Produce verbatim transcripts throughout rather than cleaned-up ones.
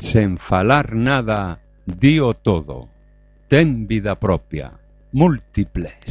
sen falar nada, dío todo. Ten vida propia, múltiples.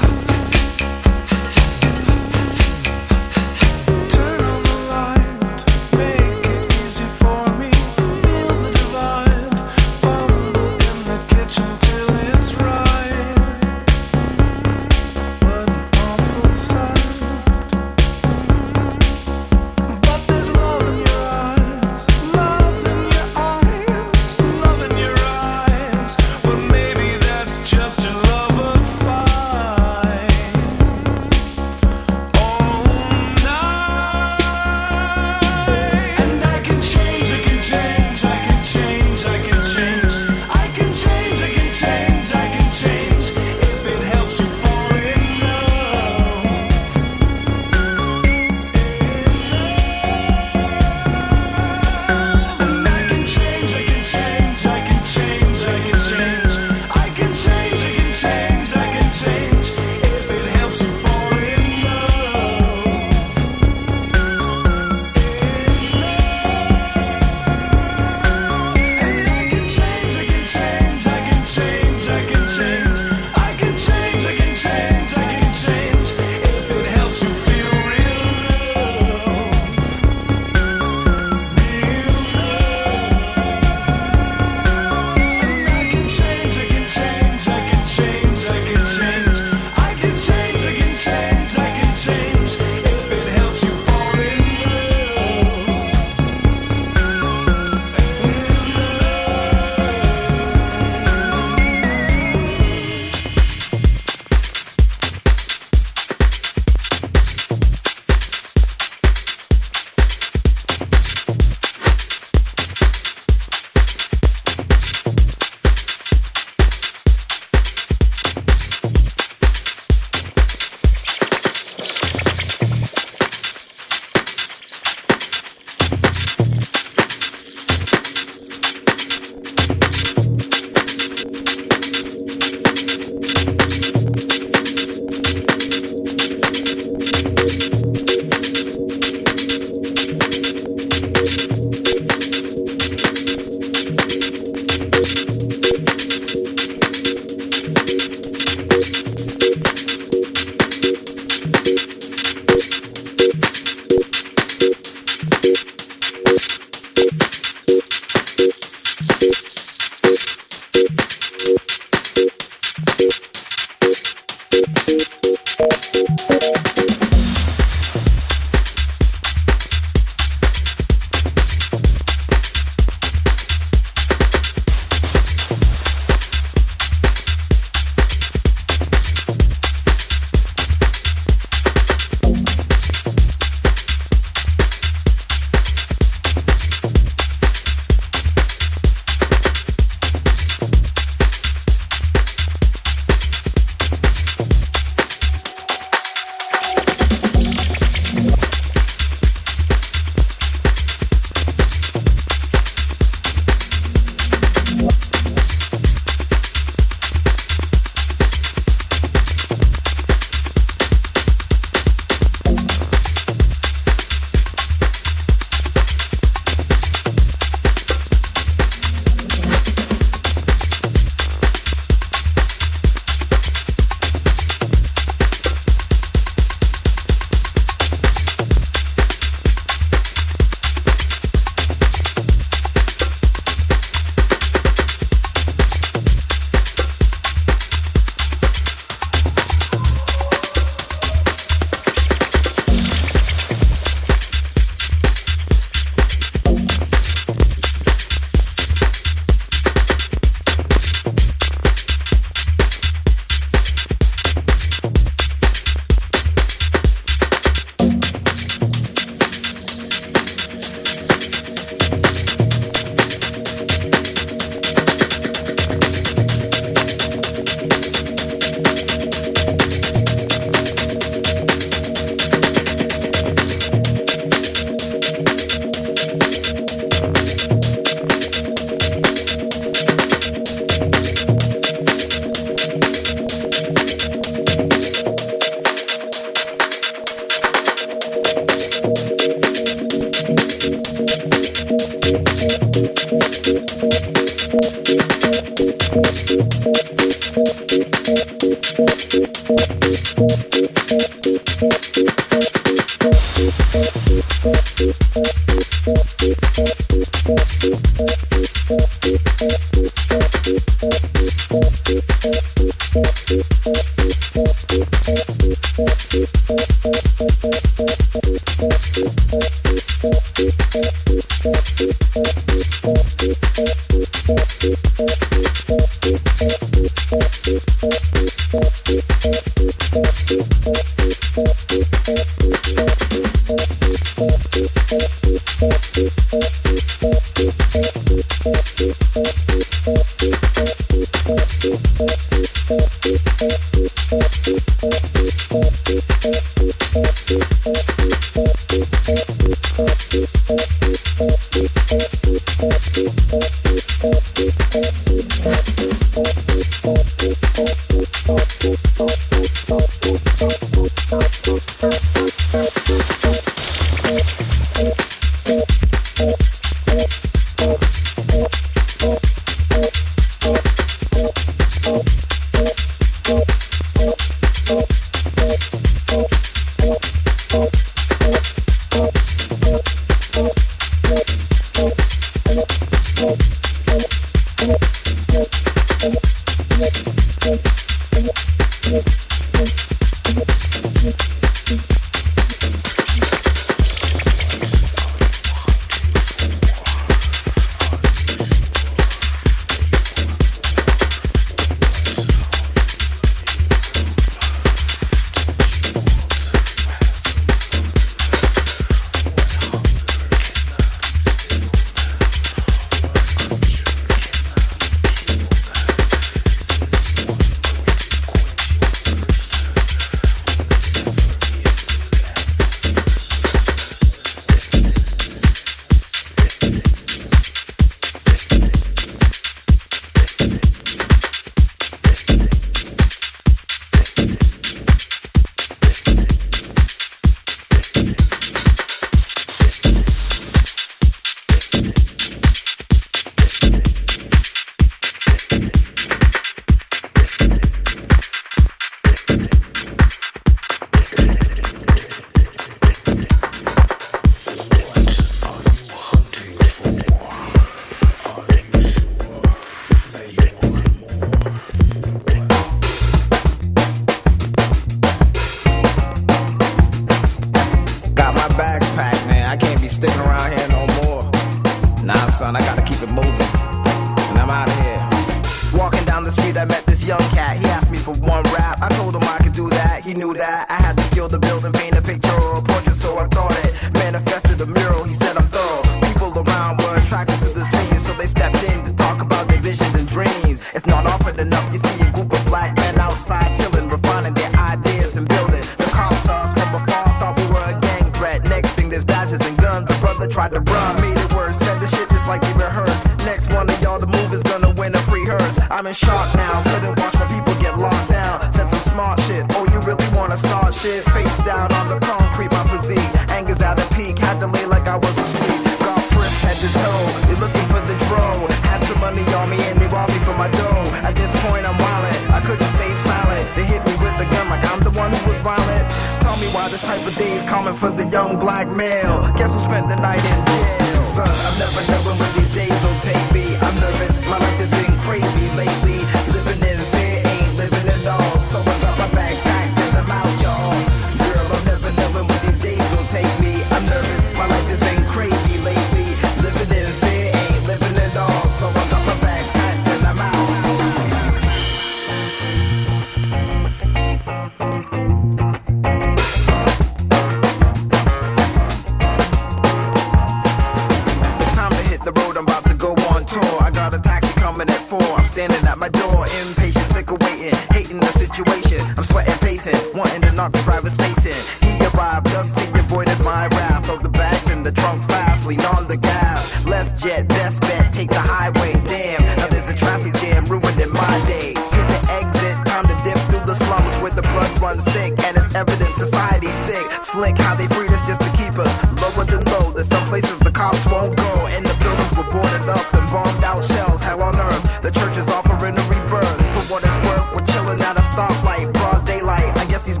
The church is offering a rebirth. For what it's worth, we're chilling at a stoplight, broad daylight. I guess these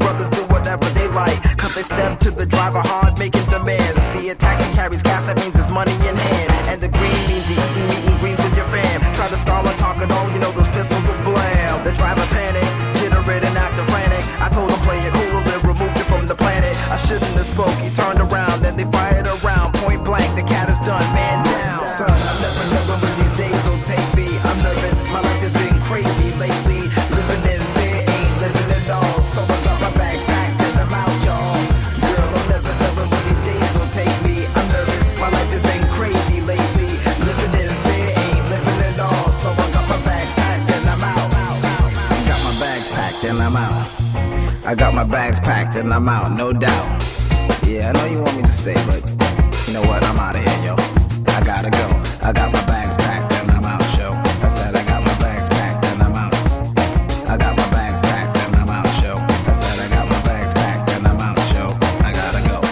they step to the driver hard, making demands. See, a taxi carries cash, that means it's money in hand. And the green means you're eating meat and greens with your fam. Try to stall or talk at all, you know those pistols will blam. The driver panic, jittered and acting frantic. I told him play it cooler, then removed it from the planet. I shouldn't have spoke, he turned around, then they fired around. Point blank, the cat is done, man down. Son, I never know when these days will take me. I'm nervous, my life has been crazy lately. Living in fear, ain't living at all. So I got my bags packed and I'm out, y'all. Girl, I'll never know when these days will take me. I'm nervous, my life has been crazy lately. Living in fear, ain't living at all. So I got my bags packed and I'm out. Got my bags packed and I'm out. I got my bags packed and I'm out, no doubt. Yeah, I know you want me to stay, but you know what? I'm out of here, yo. I gotta go. I got my bags packed and I'm out, show. I said I got my bags packed and I'm out. I got my bags packed and I'm out, show. I said I got my bags packed and I'm out, show. I gotta go.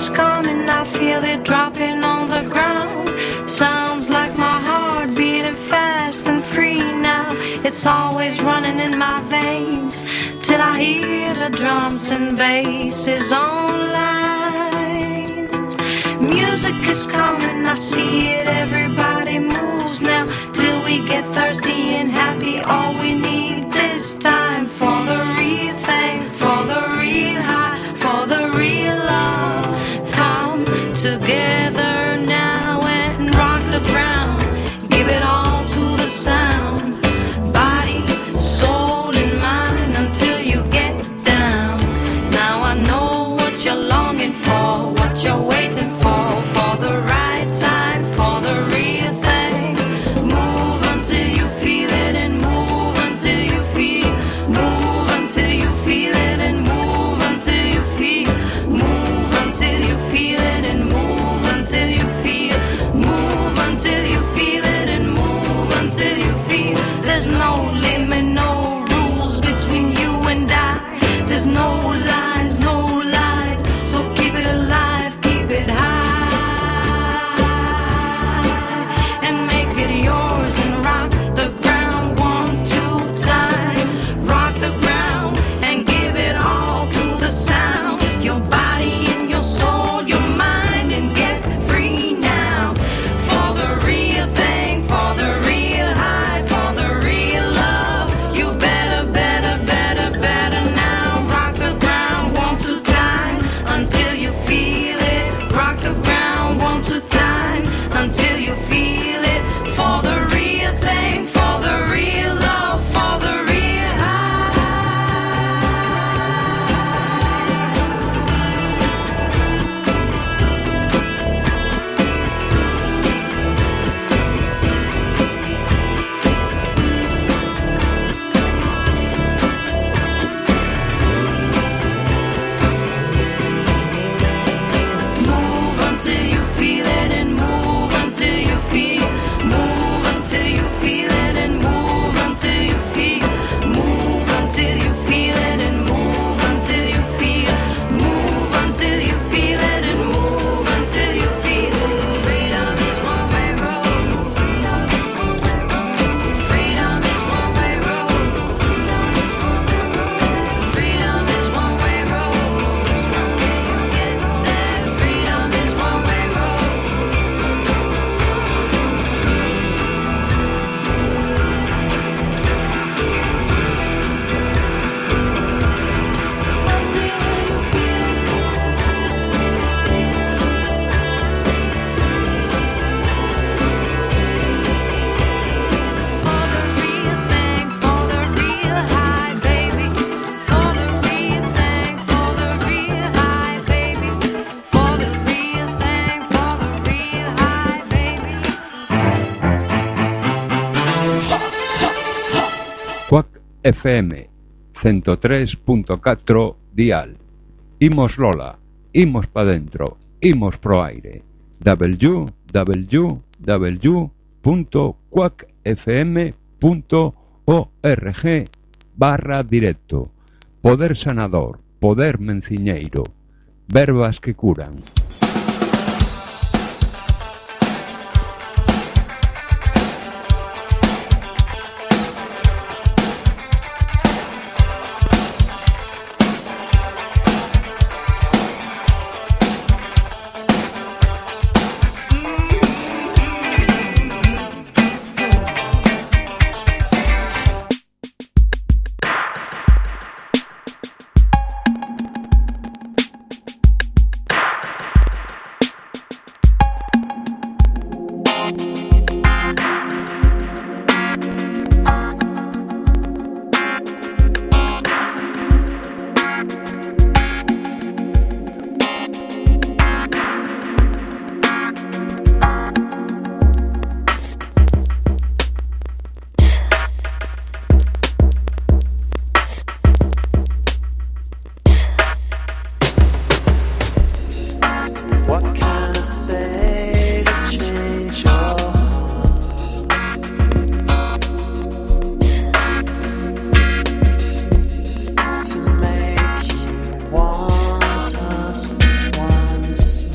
is coming, I feel it dropping on the ground. Sounds like my heart beating fast and free now. It's always running in my veins till I hear the drums and basses online. Music is coming, I see it, everybody moves now. Till we get thirsty and happy, all we need this time. For the real thing, for the real high, for the real love. Come together now and rock the ground. Give it all to the sound. Body, soul and mind until you get down. Now I know what you're longing for, what you're waiting for. For the right time, for the real thing. Move until you feel it and move until you feel. Move until you feel it and move until you feel. Move until you feel it and move until you feel. Move until you feel it and move until you feel. There's no limit, no rules between you and I. There's no lines, no lines. So keep it alive, keep it high, and make it yours and rock the ground one, two time. Rock the ground and give it all to the sound. Your body and your soul, your mind, and get free now. For the real thing, for the real high, for the real love. You better, better, better, better now. Rock the ground one, two time until you feel it. Rock the ground one, two time until you feel it. For the real thing, for the real love, for the real high. Move until you feel it and move until you feel. Move until you feel it and move until you feel. Move until you feel it and move until you feel. Move until you feel it and move until you feel. Freedom is one way road. Freedom is one way road. Freedom is one way road. Until you get there. Freedom is one way road. For the real thing, for the real high, baby. For the real thing, for the real high, baby. For the real thing, for the real high, baby. Quack F M ciento tres punto catro dial. Imos Lola, imos pa dentro, imos pro aire. w w w punto quack f m punto org barra directo. Poder sanador, poder menciñeiro, verbas que curan. To make you want us once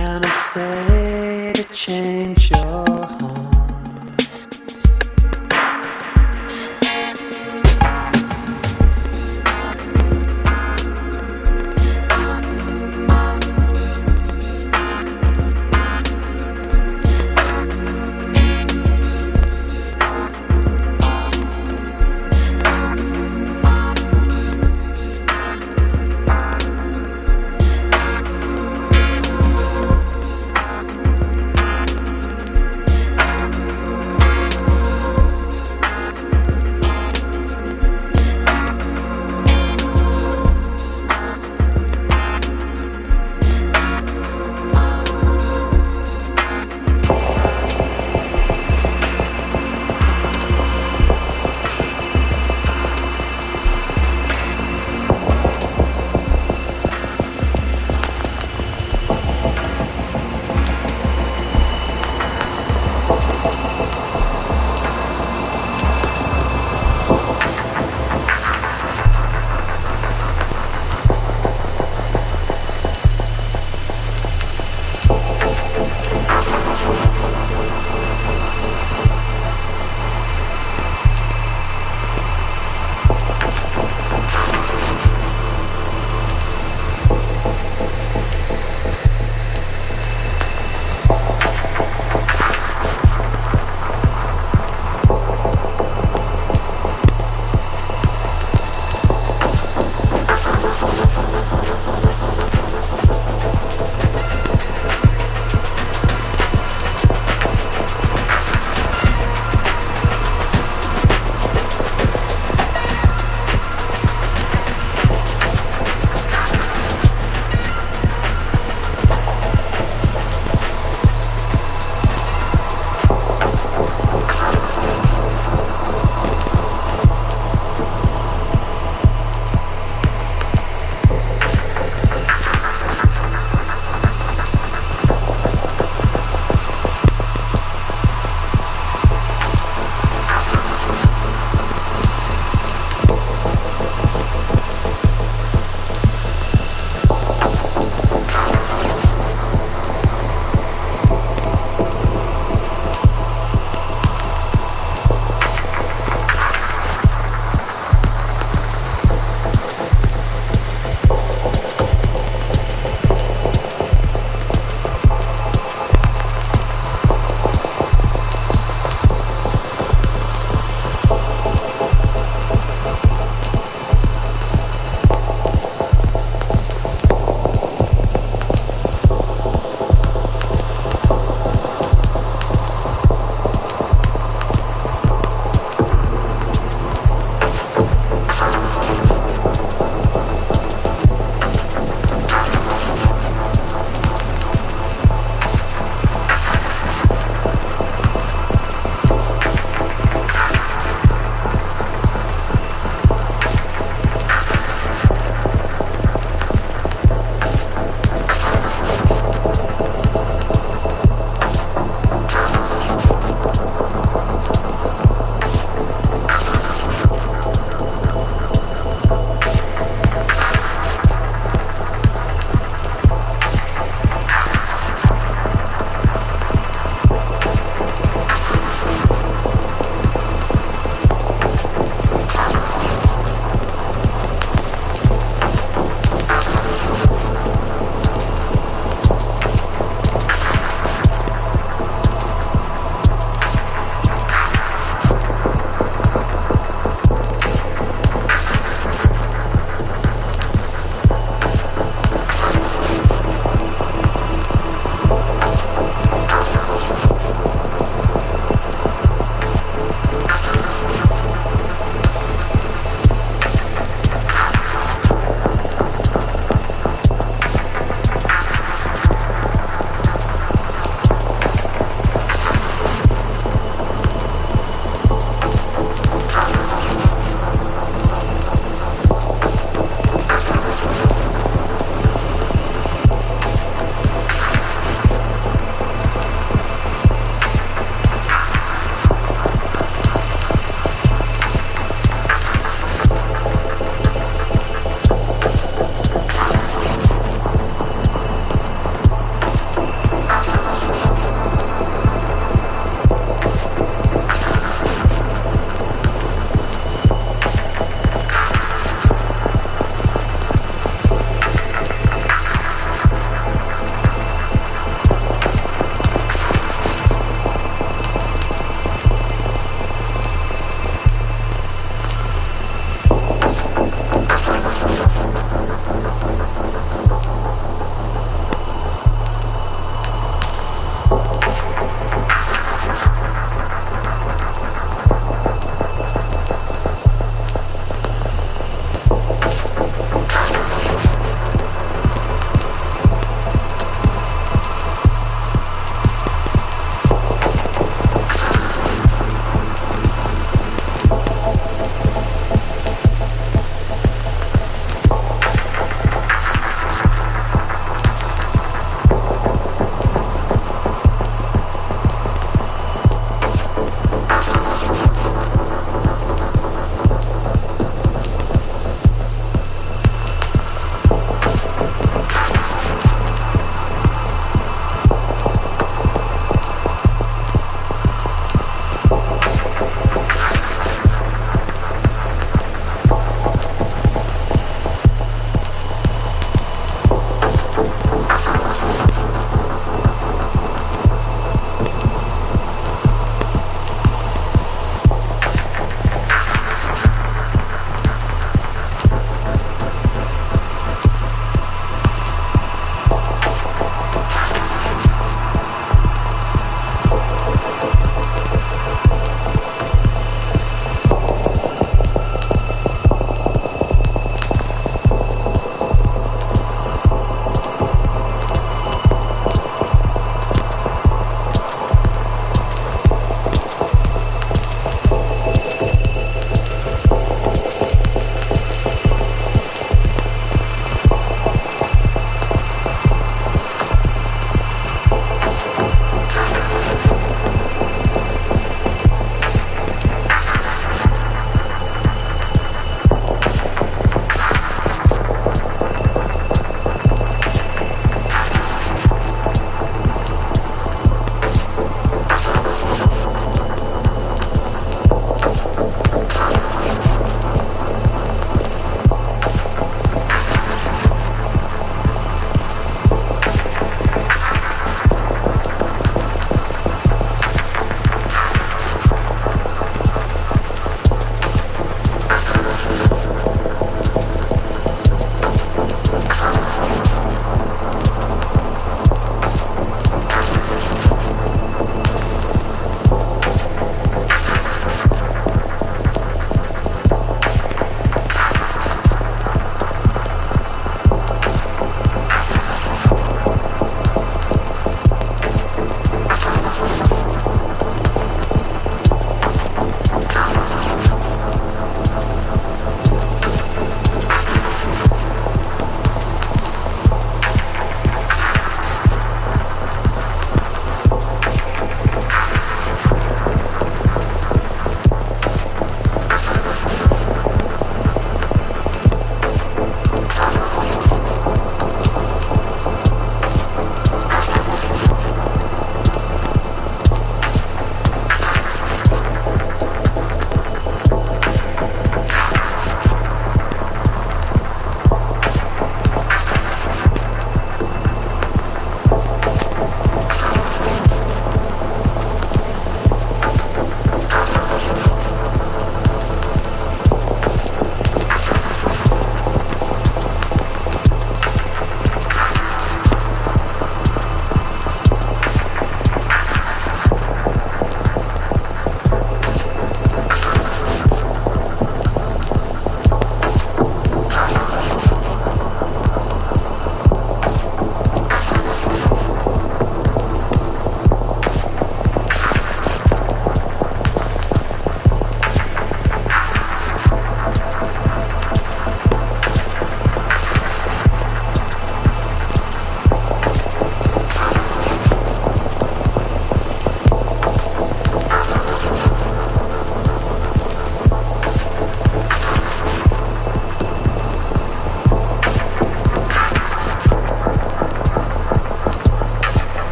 can I say to change your heart?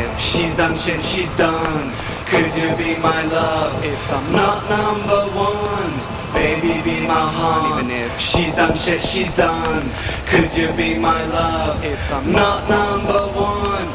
if she's done shit she's done, could you be my love if I'm not number one? Baby, be my heart. Even if she's done shit she's done, could you be my love if I'm not number one?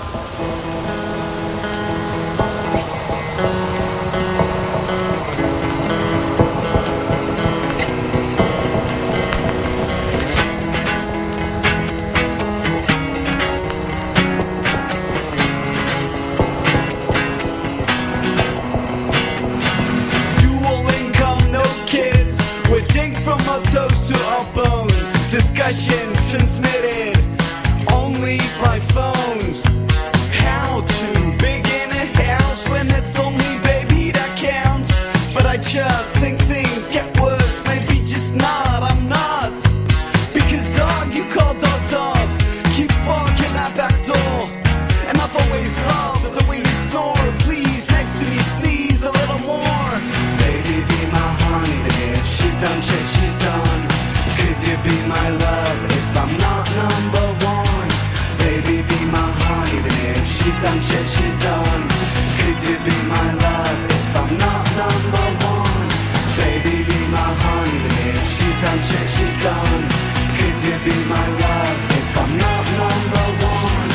Toes to our bones, discussions transmitted only by phones. How to begin a house when it's only baby that counts? But I just think things get worse, maybe just not, I'm not. Because dog, you call dogs off, keep barking that back door. And I've always loved the way you snore, please next to me sneeze a little more. Baby, be my honey, if she's done shit she's done, could you be my love if I'm not number one? Baby, be my honey, if she's done shit she's done, could you be my love if I'm not number one? Baby, be my honey, if she's done shit she's done, could you be my love if I'm not number one?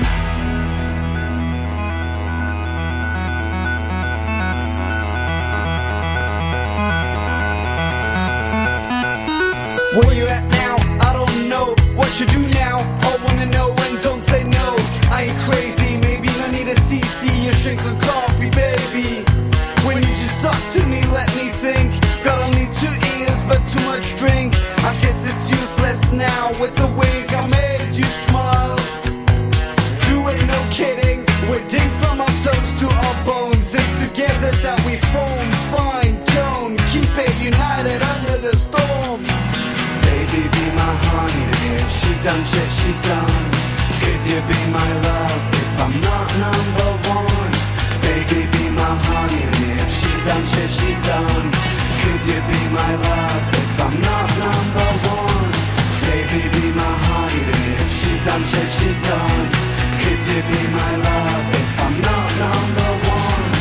Where you at now? I don't know. What you do now? I wanna know and don't say no. I ain't crazy, maybe I need a C C, a shrink and copy, baby. When you just talk to me, let me think. Got only two ears, but too much drink. I guess it's useless now. With a wink, I made you smile. Do it, no kidding. We're dig from our toes to our bones. It's together that we form fine tone. Keep it united under the storm. Baby, be my honey, if she's done shit she's done, could you be my love if I'm not number one? Baby, be my honey, if she's done shit she's done, could you be my love if I'm not number one? Baby, be my honey, if she's done shit she's done, could you be my love if I'm not number one?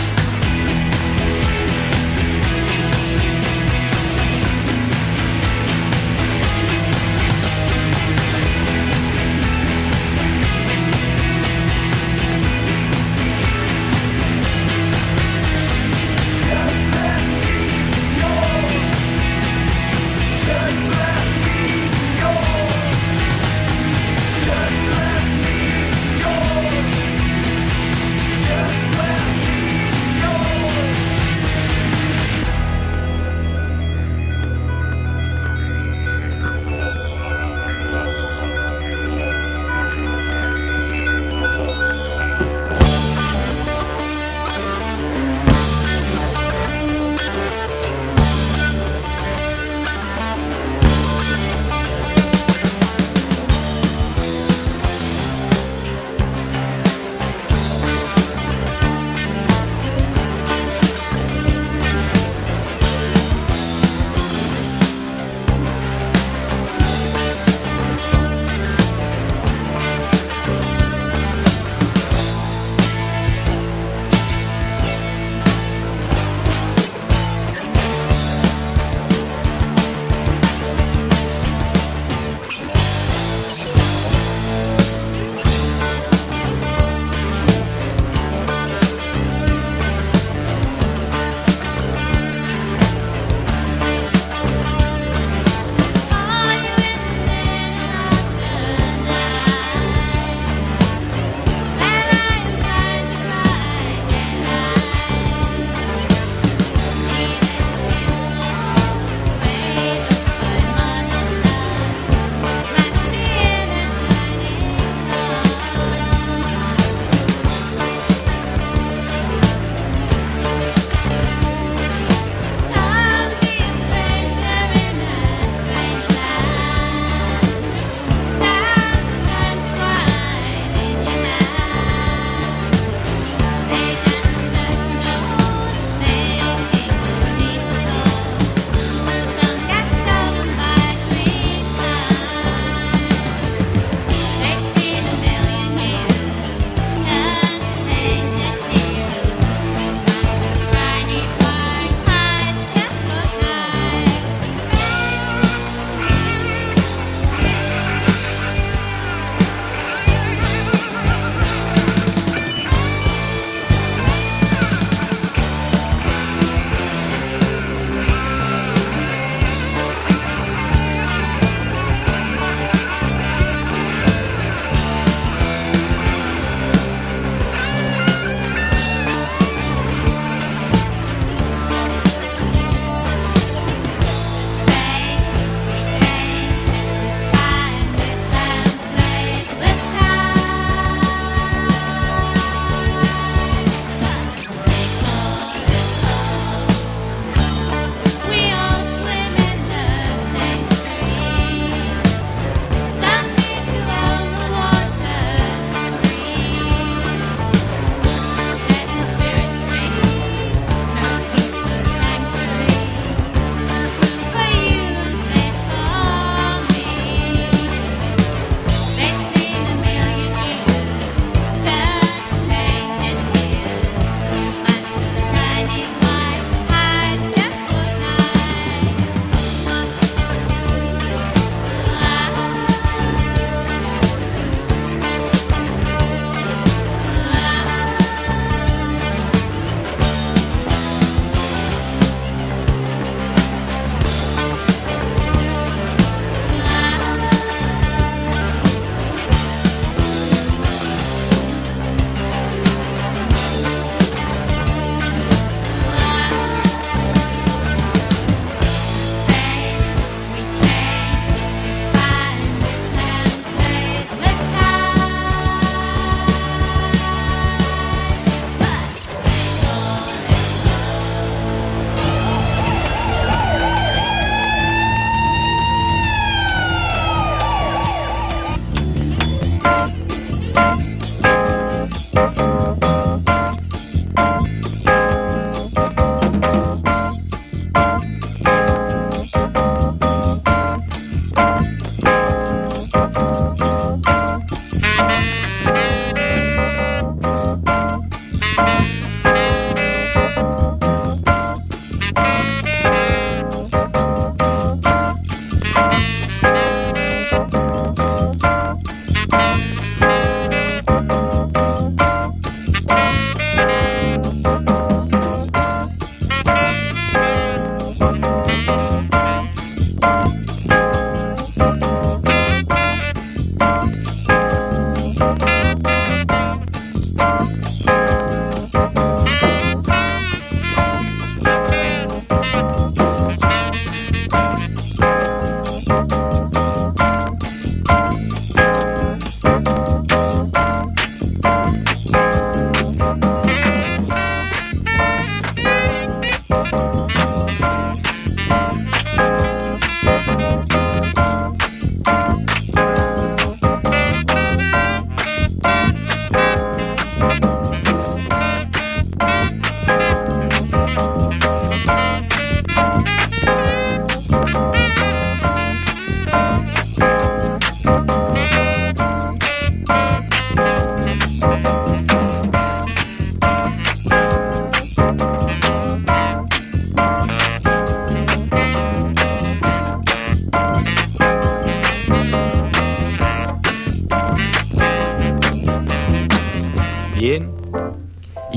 Just let me be yours. Just let me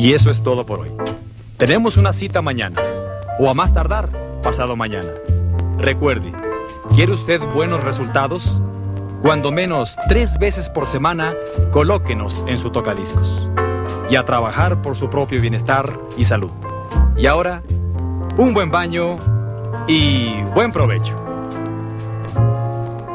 Y eso es todo por hoy. Tenemos una cita mañana, o a más tardar, pasado mañana. Recuerde, ¿quiere usted buenos resultados? Cuando menos tres veces por semana, colóquenos en su tocadiscos. Y a trabajar por su propio bienestar y salud. Y ahora, un buen baño y buen provecho.